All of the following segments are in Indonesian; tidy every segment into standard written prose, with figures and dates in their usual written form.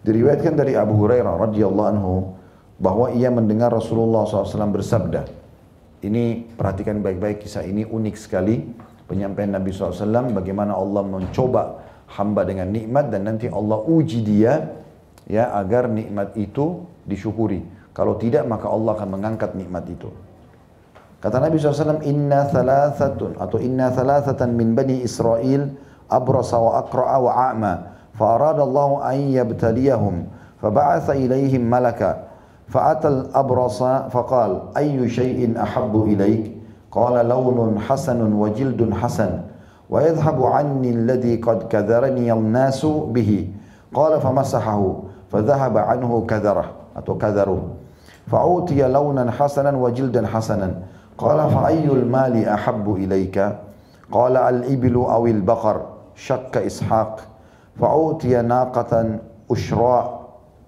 Diriwayatkan dari Abu Hurairah radhiyallahu anhu bahwa ia mendengar Rasulullah SAW bersabda. Ini perhatikan baik-baik, kisah ini unik sekali. Penyampaian Nabi SAW bagaimana Allah mencoba hamba dengan nikmat dan nanti Allah uji dia ya agar nikmat itu disyukuri. Kalau tidak maka Allah akan mengangkat nikmat itu. Kata Nabi SAW, inna thalathatan min bani Israel abrasa wa aqra'a wa a'ma fa arada Allah an yabtaliyahum fa ba'atha ilayhim malaka fa atal abrasa fa qala ayyu shay'in ahabbu ilayk qala lawnun hasanun wa jildun hasan wa yadhhabu anni alladhi qad kadharani an-nasu bihi qala famasahahu fa dhahaba anhu kadharah atau kadharuh fa utiya lawnan hasanan wa jildan hasanan qala fa ayyul mali ahabbu ilayka qala al-iblu awil baqar syakka ishaq fa utiya naqatan ushra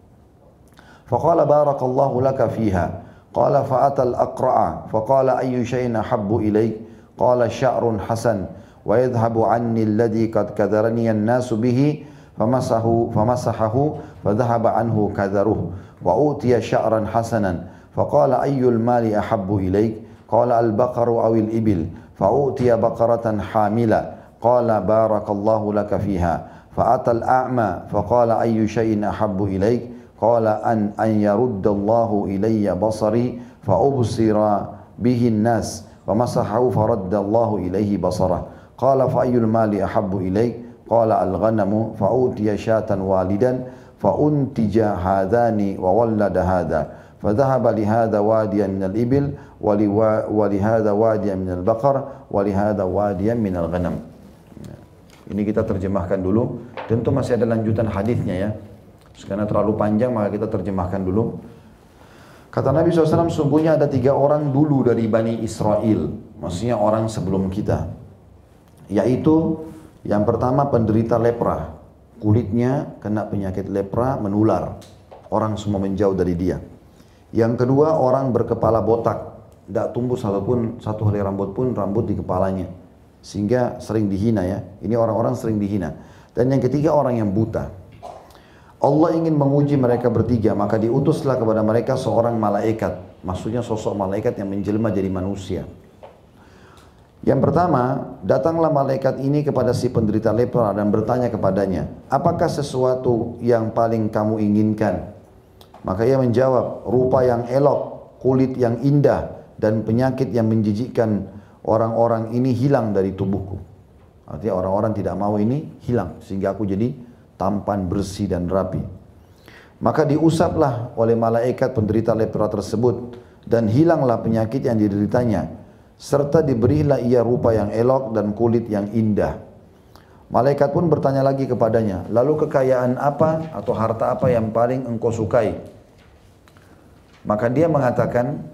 فقال بارك الله لك فيها قال فأتى الأقرع فقال أي شيء أحب إليك قال شعر حسن ويذهب عني الذي قد كذرني الناس به فمسحه فذهب عنه كذره وأوتي شعرا حسنا فقال أي المال أحب إليك قال البقر أو الإبل فأوتي بقرة حاملة قال بارك الله لك فيها فأتى الأعمى فقال أي شيء أحب إليك قال أن يرد الله إلي بصري فأبصر به الناس فمسحه فرد الله إليه بصره قال فأي المال أحب إليك قال الغنم فأوتي شاة والدا فأنتج هذان وولد هذا فذهب لهذا واديا من الإبل ولهذا واديا من البقر ولهذا واديا من الغنم. Ini kita terjemahkan dulu. Tentu masih ada lanjutan hadisnya ya. Karena terlalu panjang maka kita terjemahkan dulu. Kata Nabi SAW, sungguhnya ada 3 orang dulu dari Bani Israel. Maksudnya orang sebelum kita. Yaitu yang pertama penderita lepra. Kulitnya kena penyakit lepra menular. Orang semua menjauh dari dia. Yang kedua orang berkepala botak. Tidak tumbuh satu helai rambut pun rambut di kepalanya. Sehingga sering dihina ya. Ini orang-orang sering dihina. Dan yang ketiga orang yang buta. Allah ingin menguji mereka bertiga, maka diutuslah kepada mereka seorang malaikat. Maksudnya sosok malaikat yang menjelma jadi manusia. Yang pertama, datanglah malaikat ini kepada si penderita lepra dan bertanya kepadanya, apakah sesuatu yang paling kamu inginkan? Maka ia menjawab, rupa yang elok, kulit yang indah, dan penyakit yang menjijikkan orang-orang ini hilang dari tubuhku. Artinya orang-orang tidak mau ini hilang, sehingga aku jadi tampan, bersih dan rapi. Maka diusaplah oleh malaikat penderita lepra tersebut dan hilanglah penyakit yang dideritanya, serta diberilah ia rupa yang elok dan kulit yang indah. Malaikat pun bertanya lagi kepadanya, lalu kekayaan apa atau harta apa yang paling engkau sukai? Maka dia mengatakan,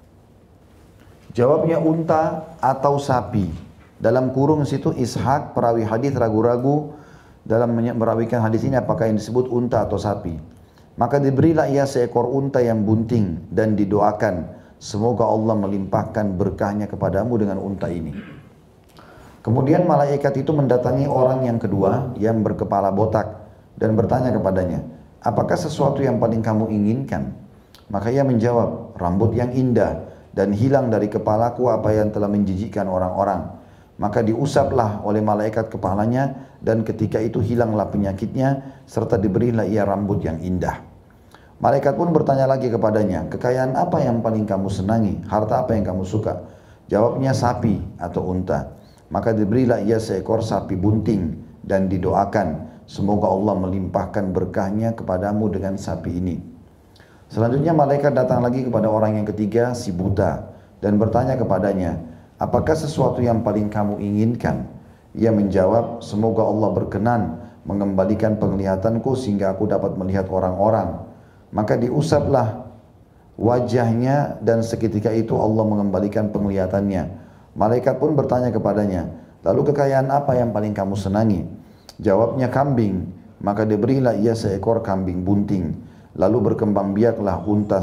jawabnya unta atau sapi. Dalam kurung situ Ishaq perawi hadis ragu-ragu dalam merawikan hadis ini apakah yang disebut unta atau sapi. Maka diberilah ia seekor unta yang bunting dan didoakan, semoga Allah melimpahkan berkahnya kepadamu dengan unta ini. Kemudian malaikat itu mendatangi orang yang kedua yang berkepala botak dan bertanya kepadanya, apakah sesuatu yang paling kamu inginkan? Maka ia menjawab, rambut yang indah dan hilang dari kepalaku apa yang telah menjijikkan orang-orang. Maka diusaplah oleh malaikat kepalanya dan ketika itu hilanglah penyakitnya serta diberilah ia rambut yang indah. Malaikat pun bertanya lagi kepadanya, kekayaan apa yang paling kamu senangi? Harta apa yang kamu suka? Jawabnya sapi atau unta. Maka diberilah ia seekor sapi bunting dan didoakan, semoga Allah melimpahkan berkahnya kepadamu dengan sapi ini. Selanjutnya malaikat datang lagi kepada orang yang ketiga, si buta, dan bertanya kepadanya, apakah sesuatu yang paling kamu inginkan? Ia menjawab, semoga Allah berkenan mengembalikan penglihatanku sehingga aku dapat melihat orang-orang. Maka diusaplah wajahnya dan seketika itu Allah mengembalikan penglihatannya. Malaikat pun bertanya kepadanya, lalu kekayaan apa yang paling kamu senangi? Jawabnya kambing. Maka diberilah ia seekor kambing bunting. Lalu berkembang biaklah unta,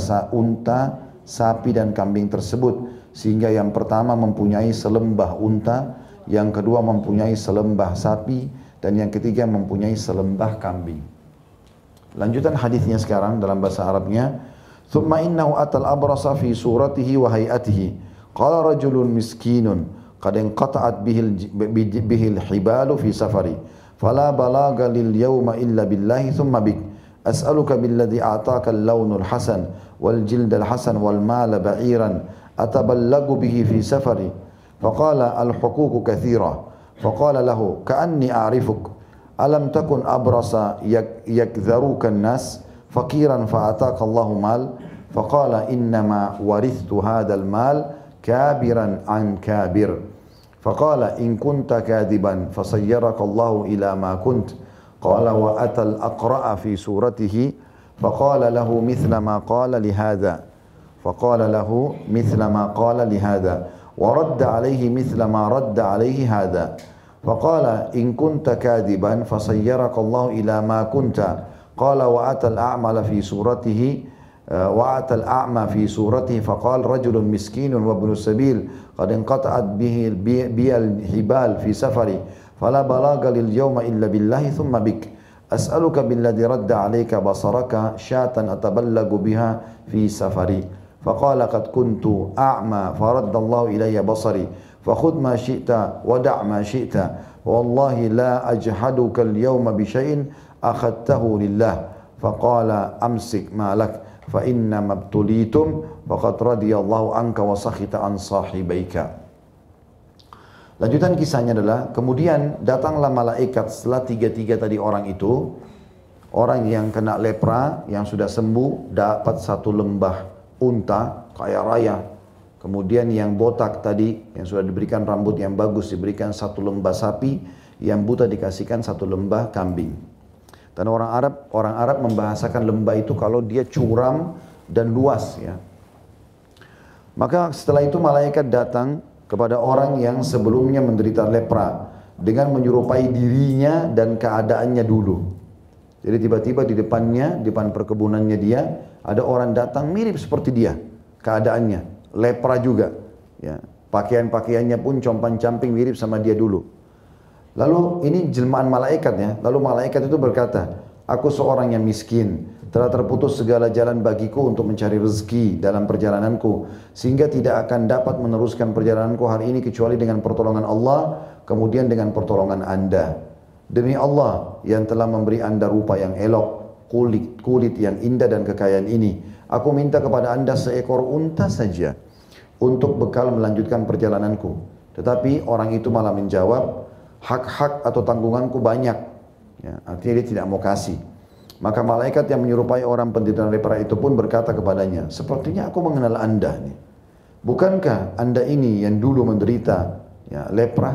sapi dan kambing tersebut. Sehingga yang pertama mempunyai selembah unta, yang kedua mempunyai selembah sapi, dan yang ketiga mempunyai selembah kambing. Lanjutan hadisnya sekarang dalam bahasa Arabnya. Thumma innahu atal abrasa fi suratihi wa hayatihi. Qala rajulun miskinun qad inqata'at bihil hibalu fi safari. Fala balaga lil yawma illa billahi thumma bik. As'aluka billadhi a'taka al-lawnul hasan wal jildal hasan wal mala ba'iran ataballagu bihi fi safari. Faqala al-huququ kathira. Faqala lahu ka'anni a'rifuk. Alam takun abrasa yakdharuka an-nas faqiran fa'ataka Allahu mal. Faqala innama warithtu hadzal mal kabiran an kabir. Faqala in kunta kadiban fasayyaraka Allahu ila ma kunt. Qala wa atal aqra'a fi suratihi faqala lahu mithla ma qala li hadha. Faqala lahu mithla ma qala li hadha wa radda alayhi mithla ma radda alayhi hadha. فقال إن كنت كاذبا فصيرك الله إلى ما كنت. قال وأتى الأعمى في صورته وأتى الأعمى في صورته فقال رجل مسكين وابن السبيل قد انقطعت بي الحبال في سفري فلا بلاغ لليوم إلا بالله ثم بك. أسألك بالذي رد عليك بصرك شاة أتبلغ بها في سفري. فقال قد كنت أعمى فرد الله إلي بصري فخذ ما شئت ودع ما شئت والله لا أجحدك اليوم بشيء أخذته لله. فقال أمسك ما لك فإنما ابتليتم فقد رضي الله عنك وسخط عن صاحبيك. Lanjutan kisahnya adalah kemudian datanglah malaikat setelah tiga-tiga tadi orang itu, orang yang kena lepra yang sudah sembuh dapat satu lembah unta kaya raya. Kemudian yang botak tadi, yang sudah diberikan rambut yang bagus, diberikan satu lembah sapi, yang buta dikasihkan satu lembah kambing. Dan orang Arab membahasakan lembah itu kalau dia curam dan luas ya. Maka setelah itu malaikat datang kepada orang yang sebelumnya menderita lepra dengan menyerupai dirinya dan keadaannya dulu. Jadi tiba-tiba di depannya, di depan perkebunannya dia, ada orang datang mirip seperti dia keadaannya. Lepra juga, ya. Pakaian-pakaiannya pun compang-camping mirip sama dia dulu. Lalu ini jelmaan malaikat ya. Lalu malaikat itu berkata, aku seorang yang miskin, telah terputus segala jalan bagiku untuk mencari rezeki dalam perjalananku, sehingga tidak akan dapat meneruskan perjalananku hari ini kecuali dengan pertolongan Allah, kemudian dengan pertolongan Anda. Demi Allah yang telah memberi Anda rupa yang elok, kulit yang indah dan kekayaan ini, aku minta kepada Anda seekor unta saja untuk bekal melanjutkan perjalananku. Tetapi orang itu malah menjawab, hak-hak atau tanggunganku banyak. Ya, artinya dia tidak mau kasih. Maka malaikat yang menyerupai orang penderita lepra itu pun berkata kepadanya, sepertinya aku mengenal Anda nih. Bukankah Anda ini yang dulu menderita ya, lepra?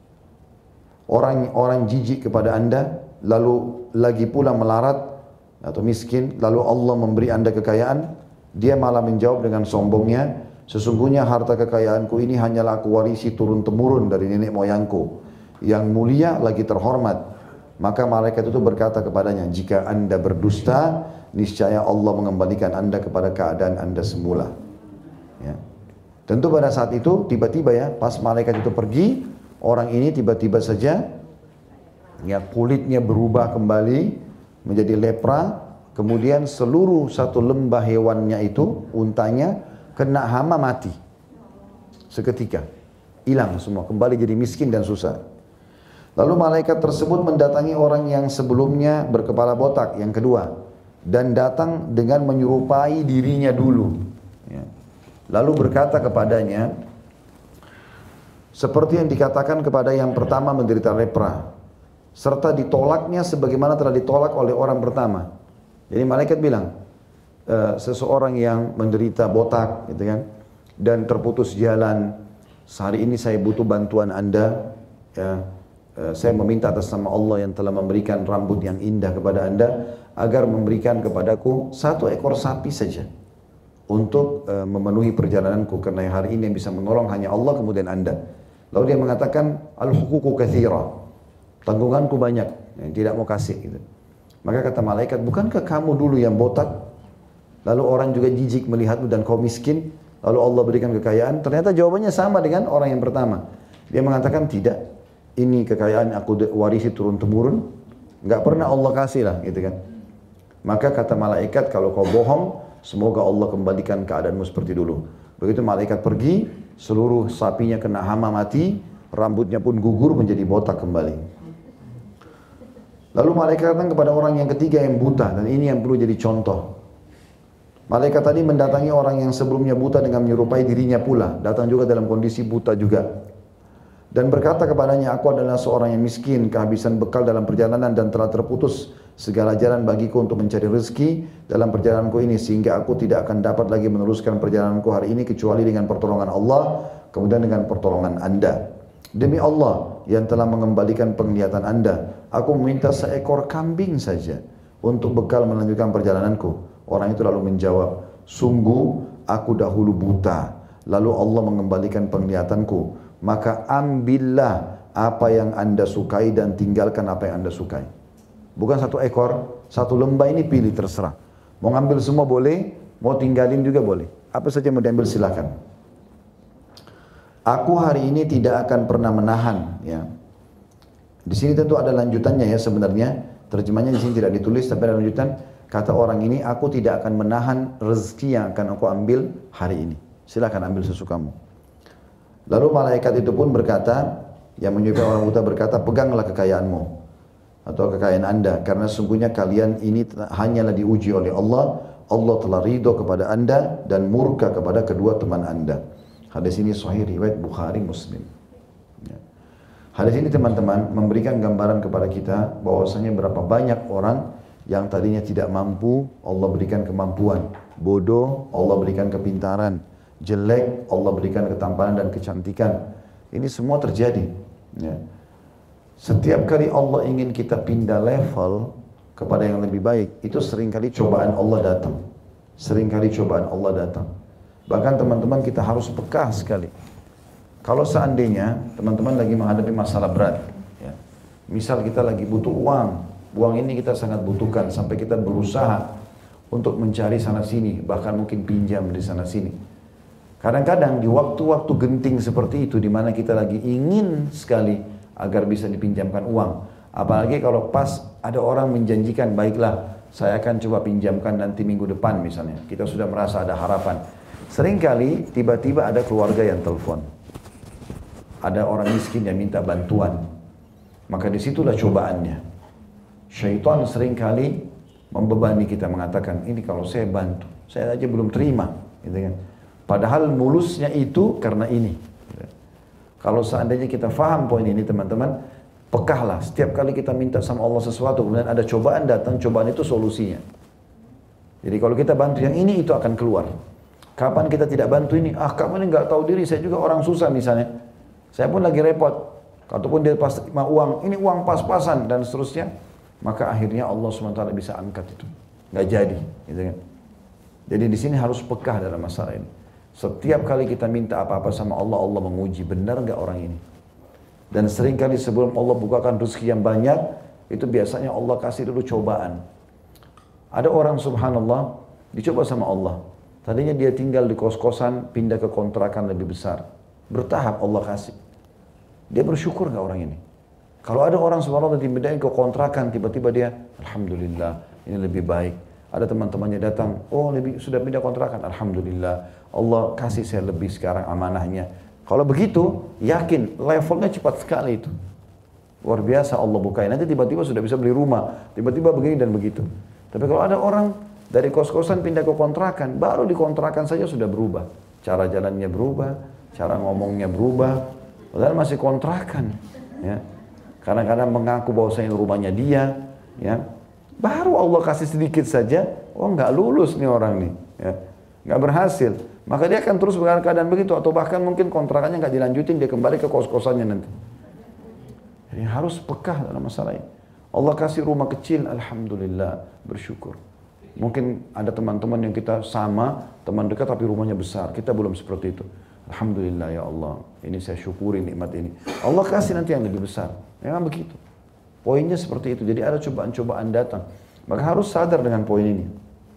Orang jijik kepada Anda, lalu lagi pula melarat atau miskin, lalu Allah memberi Anda kekayaan. Dia malah menjawab dengan sombongnya, sesungguhnya harta kekayaanku ini hanyalah aku warisi turun-temurun dari nenek moyangku yang mulia lagi terhormat. Maka malaikat itu berkata kepadanya, jika Anda berdusta, niscaya Allah mengembalikan Anda kepada keadaan Anda semula. Ya. Tentu pada saat itu tiba-tiba ya, pas malaikat itu pergi, orang ini tiba-tiba saja ya kulitnya berubah kembali menjadi lepra, kemudian seluruh satu lembah hewannya itu, untanya, kena hama mati. Seketika, hilang semua, kembali jadi miskin dan susah. Lalu malaikat tersebut mendatangi orang yang sebelumnya berkepala botak, yang kedua, dan datang dengan menyerupai dirinya dulu. Ya. Lalu berkata kepadanya, seperti yang dikatakan kepada yang pertama menderita lepra, serta ditolaknya sebagaimana telah ditolak oleh orang pertama. Jadi malaikat bilang, seseorang yang menderita botak gitu kan, dan terputus jalan, sehari ini saya butuh bantuan Anda ya, saya meminta atas nama Allah yang telah memberikan rambut yang indah kepada Anda, agar memberikan kepadaku satu ekor sapi saja untuk memenuhi perjalananku, karena hari ini yang bisa menolong hanya Allah kemudian Anda. Lalu dia mengatakan, al-huququ katsira, tanggunganku banyak, yang tidak mau kasih gitu. Maka kata malaikat, bukankah kamu dulu yang botak, lalu orang juga jijik melihatmu dan kau miskin, lalu Allah berikan kekayaan? Ternyata jawabannya sama dengan orang yang pertama. Dia mengatakan, tidak, ini kekayaan aku warisi turun-temurun, nggak pernah Allah kasih lah gitu kan. Maka kata malaikat, kalau kau bohong, semoga Allah kembalikan keadaanmu seperti dulu. Begitu malaikat pergi, seluruh sapinya kena hama mati, rambutnya pun gugur menjadi botak kembali. Lalu malaikat datang kepada orang yang ketiga yang buta, dan ini yang perlu jadi contoh. Malaikat tadi mendatangi orang yang sebelumnya buta dengan menyerupai dirinya pula, datang juga dalam kondisi buta juga. Dan berkata kepadanya, aku adalah seorang yang miskin, kehabisan bekal dalam perjalanan dan telah terputus segala jalan bagiku untuk mencari rezeki dalam perjalananku ini, sehingga aku tidak akan dapat lagi meneruskan perjalananku hari ini kecuali dengan pertolongan Allah, kemudian dengan pertolongan Anda. Demi Allah yang telah mengembalikan penglihatan Anda, aku meminta seekor kambing saja untuk bekal melanjutkan perjalananku. Orang itu lalu menjawab, sungguh aku dahulu buta, lalu Allah mengembalikan penglihatanku. Maka ambillah apa yang Anda sukai dan tinggalkan apa yang Anda sukai. Bukan satu ekor, satu lembah ini pilih terserah. Mau ngambil semua boleh, mau tinggalin juga boleh. Apa saja mau diambil silakan. Aku hari ini tidak akan pernah menahan. Ya. Di sini tentu ada lanjutannya ya sebenarnya. Terjemahnya di sini tidak ditulis tapi ada lanjutan. Kata orang ini, aku tidak akan menahan rezeki yang akan aku ambil hari ini. Silakan ambil sesukamu. Lalu malaikat itu pun berkata, yang menyerupai orang buta berkata, peganglah kekayaanmu atau kekayaan Anda, karena sungguhnya kalian ini hanyalah diuji oleh Allah. Allah telah ridho kepada Anda dan murka kepada kedua teman Anda. Hadis ini sahih riwayat Bukhari Muslim. Ya. Hadis ini teman-teman memberikan gambaran kepada kita bahwasanya berapa banyak orang yang tadinya tidak mampu, Allah berikan kemampuan. Bodoh, Allah berikan kepintaran. Jelek, Allah berikan ketampanan dan kecantikan. Ini semua terjadi. Ya. Setiap kali Allah ingin kita pindah level kepada yang lebih baik, itu seringkali cobaan Allah datang. Seringkali cobaan Allah datang. Bahkan teman-teman kita harus peka sekali. Kalau seandainya teman-teman lagi menghadapi masalah berat, ya. Misal kita lagi butuh uang ini kita sangat butuhkan sampai kita berusaha untuk mencari sana sini, bahkan mungkin pinjam di sana sini. Kadang-kadang di waktu-waktu genting seperti itu, di mana kita lagi ingin sekali agar bisa dipinjamkan uang. Apalagi kalau pas ada orang menjanjikan, baiklah saya akan coba pinjamkan nanti minggu depan misalnya. Kita sudah merasa ada harapan. Seringkali tiba-tiba ada keluarga yang telepon. Ada orang miskin yang minta bantuan. Maka disitulah cobaannya. Syaitan seringkali membebani kita, mengatakan, ini kalau saya bantu, saya aja belum terima. Gitu kan. Padahal mulusnya itu karena ini. Kalau seandainya kita faham poin ini teman-teman, pekahlah. Setiap kali kita minta sama Allah sesuatu, kemudian ada cobaan datang, cobaan itu solusinya. Jadi kalau kita bantu yang ini, itu akan keluar. Kapan kita tidak bantu ini? Kamu ini nggak tahu diri, saya juga orang susah misalnya. Saya pun lagi repot. Ataupun dia pas terima uang, ini uang pas-pasan dan seterusnya. Maka akhirnya Allah SWT bisa angkat itu. Nggak jadi. Gitu kan. Jadi di sini harus pekah dalam masalah ini. Setiap kali kita minta apa-apa sama Allah, Allah menguji, benar nggak orang ini? Dan seringkali sebelum Allah bukakan rezeki yang banyak, itu biasanya Allah kasih dulu cobaan. Ada orang subhanallah, dicoba sama Allah. Tadinya dia tinggal di kos-kosan, pindah ke kontrakan lebih besar. Bertahap Allah kasih. Dia bersyukur nggak orang ini? Kalau ada orang subhanallah dipindahin ke kontrakan, tiba-tiba dia, alhamdulillah, ini lebih baik. Ada teman-temannya datang, sudah pindah kontrakan, alhamdulillah. Allah kasih saya lebih sekarang amanahnya. Kalau begitu, yakin levelnya cepat sekali itu. Luar biasa Allah bukain. Nanti tiba-tiba sudah bisa beli rumah, tiba-tiba begini dan begitu. Tapi kalau ada orang dari kos-kosan pindah ke kontrakan, baru di kontrakan saja sudah berubah. Cara jalannya berubah, cara ngomongnya berubah. Padahal masih kontrakan. Ya. Kadang-kadang mengaku bahwasanya rumahnya dia. Ya. Baru Allah kasih sedikit saja, nggak lulus nih orang nih. Ya. Nggak berhasil. Maka dia akan terus dengan keadaan begitu, atau bahkan mungkin kontrakannya nggak dilanjutin, dia kembali ke kos-kosannya nanti. Jadi harus pekah dalam masalah ini. Allah kasih rumah kecil, alhamdulillah, bersyukur. Mungkin ada teman-teman yang kita sama, teman dekat tapi rumahnya besar, kita belum seperti itu. Alhamdulillah ya Allah, ini saya syukuri nikmat ini. Allah kasih nanti yang lebih besar. Memang begitu. Poinnya seperti itu. Jadi ada cobaan-cobaan datang. Maka harus sadar dengan poin ini.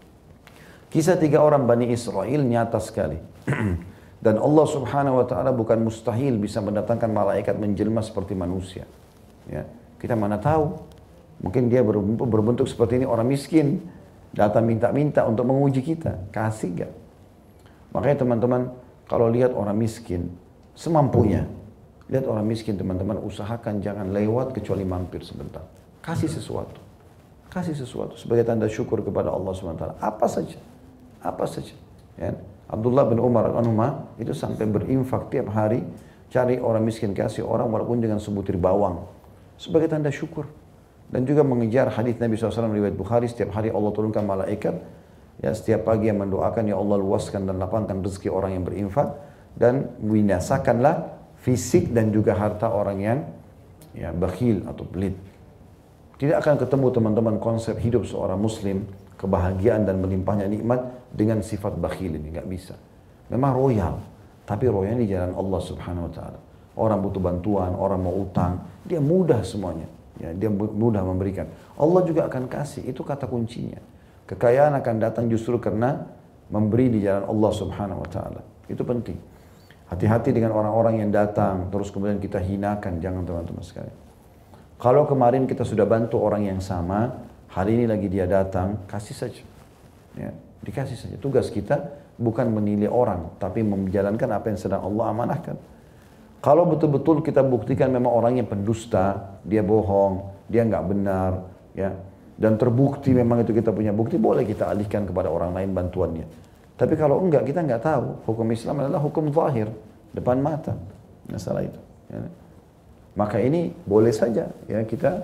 Kisah 3 orang Bani Israel nyata sekali. Dan Allah subhanahu wa ta'ala bukan mustahil bisa mendatangkan malaikat menjelma seperti manusia. Ya. Kita mana tahu. Mungkin dia berbentuk seperti ini orang miskin. Datang minta-minta untuk menguji kita, kasih gak? Makanya teman-teman, kalau lihat orang miskin, semampunya. Lihat orang miskin teman-teman, usahakan jangan lewat kecuali mampir sebentar. Kasih sesuatu. Kasih sesuatu sebagai tanda syukur kepada Allah SWT. Apa saja. Apa saja. Ya. Abdullah bin Umar anhuma itu sampai berinfak tiap hari, cari orang miskin, kasih orang walaupun dengan sebutir bawang. Sebagai tanda syukur. Dan juga mengejar hadis Nabi SAW riwayat Bukhari, setiap hari Allah turunkan malaikat, ya setiap pagi yang mendoakan, ya Allah luaskan dan lapangkan rezeki orang yang berinfak, dan binasakanlah fisik dan juga harta orang yang ya bakhil atau pelit. Tidak akan ketemu teman-teman konsep hidup seorang muslim, kebahagiaan dan melimpahnya nikmat dengan sifat bakhil ini, nggak bisa. Memang royal, tapi royal di jalan Allah Subhanahu wa taala. Orang butuh bantuan, orang mau utang, dia mudah semuanya. Ya, dia mudah memberikan. Allah juga akan kasih, itu kata kuncinya. Kekayaan akan datang justru karena memberi di jalan Allah Subhanahu wa taala. Itu penting. Hati-hati dengan orang-orang yang datang terus kemudian kita hinakan, jangan teman-teman sekalian. Kalau kemarin kita sudah bantu orang yang sama, hari ini lagi dia datang, kasih saja. Ya, dikasih saja. Tugas kita bukan menilai orang, tapi menjalankan apa yang sedang Allah amanahkan. Kalau betul-betul kita buktikan memang orangnya pendusta, dia bohong, dia nggak benar, ya, dan terbukti memang itu kita punya bukti, boleh kita alihkan kepada orang lain bantuannya. Tapi kalau enggak, kita nggak tahu. Hukum Islam adalah hukum zahir, depan mata, masalah itu. Ya. Maka ini boleh saja, ya kita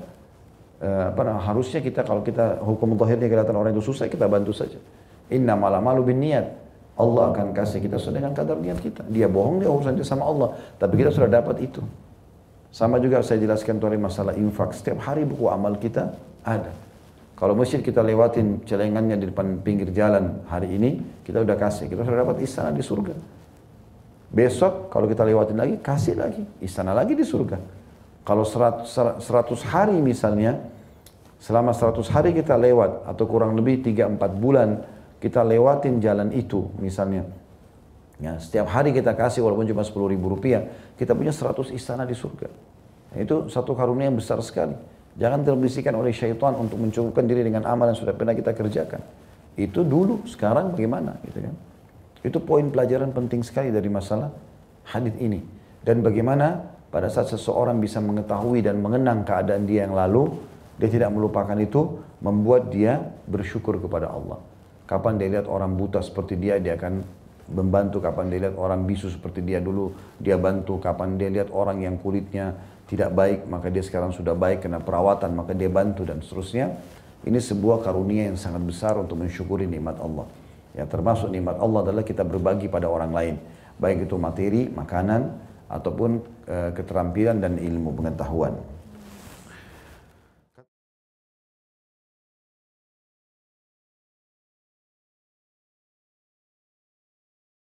harusnya kita kalau kita hukum zahirnya kelihatan orang itu susah, kita bantu saja. Innamal a'malu binniyat. Allah akan kasih kita sesuai dengan kadar niat kita. Dia bohong, dia urusan dia sama Allah. Tapi kita sudah dapat itu. Sama juga saya jelaskan tadi masalah infak. Setiap hari buku amal kita ada. Kalau masjid kita lewatin celengannya di depan pinggir jalan hari ini, kita udah kasih. Kita sudah dapat istana di surga. Besok kalau kita lewatin lagi, kasih lagi. Istana lagi di surga. Kalau 100 hari misalnya, selama 100 hari kita lewat, atau kurang lebih 3-4 bulan, kita lewatin jalan itu misalnya, ya, setiap hari kita kasih walaupun cuma 10.000 rupiah, kita punya 100 istana di surga. Itu satu karunia yang besar sekali. Jangan terbisikan oleh syaitan untuk mencukupkan diri dengan amal yang sudah pernah kita kerjakan. Itu dulu, sekarang bagaimana? Gitu kan? Itu poin pelajaran penting sekali dari masalah hadis ini. Dan bagaimana pada saat seseorang bisa mengetahui dan mengenang keadaan dia yang lalu, dia tidak melupakan itu, membuat dia bersyukur kepada Allah. Kapan dia lihat orang buta seperti dia akan membantu. Kapan dia lihat orang bisu seperti dia dulu, dia bantu. Kapan dia lihat orang yang kulitnya tidak baik, maka dia sekarang sudah baik kena perawatan, maka dia bantu dan seterusnya. Ini sebuah karunia yang sangat besar untuk mensyukuri nikmat Allah. Ya, termasuk nikmat Allah adalah kita berbagi pada orang lain. Baik itu materi, makanan, ataupun keterampilan dan ilmu pengetahuan.